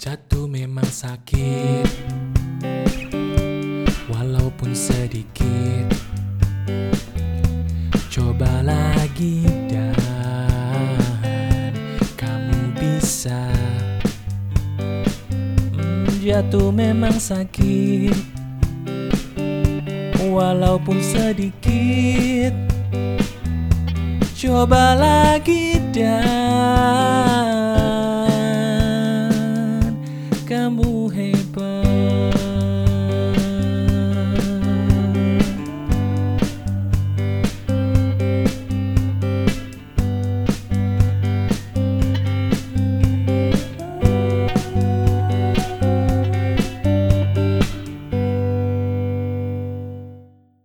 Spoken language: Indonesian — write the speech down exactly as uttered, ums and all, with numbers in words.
Jatuh memang sakit, walaupun sedikit. Coba lagi dan kamu bisa. hmm, Jatuh memang sakit, walaupun sedikit. Coba lagi dan